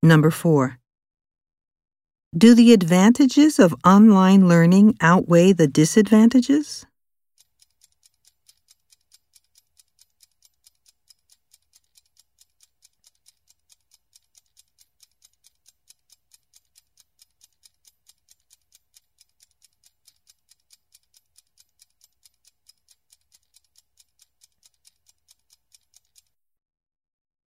Number 4. Do the advantages of online learning outweigh the disadvantages?